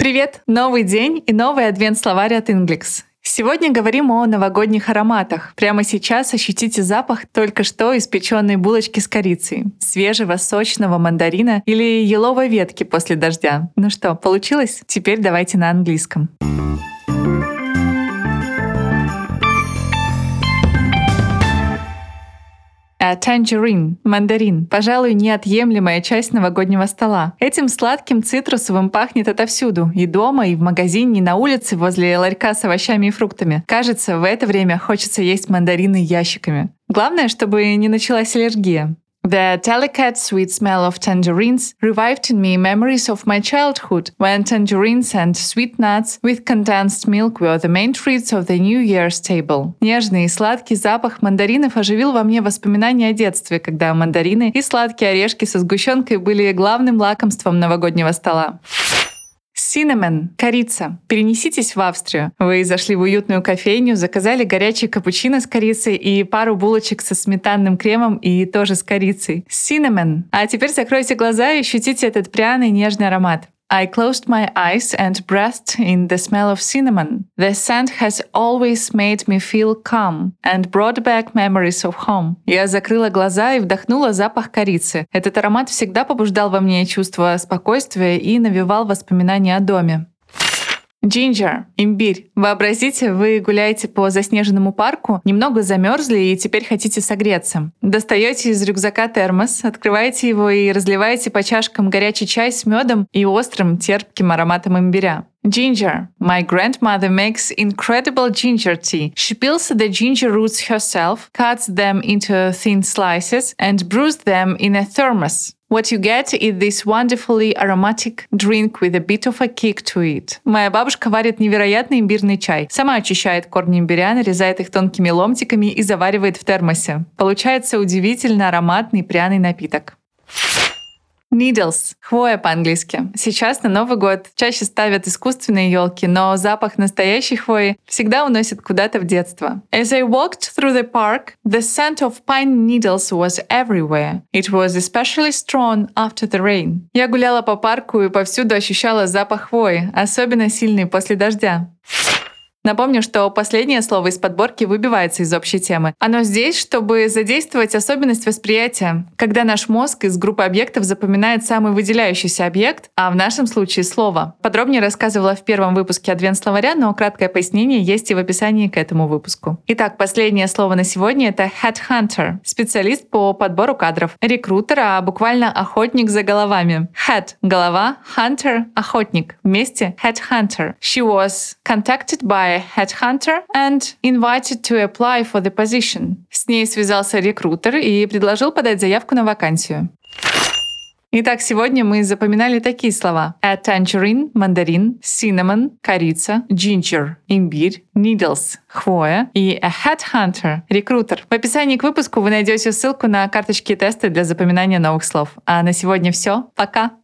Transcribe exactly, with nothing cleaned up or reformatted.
Привет! Новый день и новый адвент-словарь от Inglix. Сегодня говорим о новогодних ароматах. Прямо сейчас ощутите запах только что испеченной булочки с корицей, свежего сочного мандарина или еловой ветки после дождя. Ну что, получилось? Теперь давайте на английском. A tangerine — мандарин, пожалуй, неотъемлемая часть новогоднего стола. Этим сладким цитрусовым пахнет отовсюду, и дома, и в магазине, и на улице возле ларька с овощами и фруктами. Кажется, в это время хочется есть мандарины ящиками. Главное, чтобы не началась аллергия. The delicate sweet smell of tangerines revived in me memories of my childhood, when tangerines and sweet nuts with condensed milk were the main treats of the New Year's table. Нежный и сладкий запах мандаринов оживил во мне воспоминания о детстве, когда мандарины и сладкие орешки со сгущенкой были главным лакомством новогоднего стола. Cinnamon — корица. Перенеситесь в Австрию. Вы зашли в уютную кофейню, заказали горячий капучино с корицей и пару булочек со сметанным кремом и тоже с корицей. Cinnamon. А теперь закройте глаза и ощутите этот пряный нежный аромат. I closed my eyes and breathed in the smell of cinnamon. The scent has always made me feel calm and brought back memories of home. Я закрыла глаза и вдохнула запах корицы. Этот аромат всегда побуждал во мне чувство спокойствия и навевал воспоминания о доме. Ginger — имбирь. Вообразите, вы гуляете по заснеженному парку, немного замерзли и теперь хотите согреться. Достаете из рюкзака термос, открываете его и разливаете по чашкам горячий чай с медом и острым терпким ароматом имбиря. Ginger. My grandmother makes incredible ginger tea. She peels the ginger roots herself, cuts them into thin slices, and brews them in a thermos. What you get is this wonderfully aromatic drink with a bit of a kick to it. Моя бабушка варит невероятный имбирный чай. Сама очищает корни имбиря, нарезает их тонкими ломтиками и заваривает в термосе. Получается удивительно ароматный пряный напиток. Needles — хвоя по-английски. Сейчас на Новый год чаще ставят искусственные елки, но запах настоящей хвои всегда уносит куда-то в детство. As I walked through the park, the scent of pine needles was everywhere. It was especially strong after the rain. Я гуляла по парку и повсюду ощущала запах хвои, особенно сильный после дождя. Напомню, что последнее слово из подборки выбивается из общей темы. Оно здесь, чтобы задействовать особенность восприятия, когда наш мозг из группы объектов запоминает самый выделяющийся объект, а в нашем случае — слово. Подробнее рассказывала в первом выпуске адвент-словаря, но краткое пояснение есть и в описании к этому выпуску. Итак, последнее слово на сегодня — это headhunter, специалист по подбору кадров. Рекрутер, а буквально охотник за головами. Head — голова, hunter — охотник. Вместе — headhunter. She was contacted by headhunter and invited to apply for the position. С ней связался рекрутер и предложил подать заявку на вакансию. Итак, сегодня мы запоминали такие слова: a tangerine — мандарин, cinnamon — корица, ginger — имбирь, needles — хвоя и a headhunter — рекрутер. В описании к выпуску вы найдете ссылку на карточки и тесты для запоминания новых слов. А на сегодня все. Пока!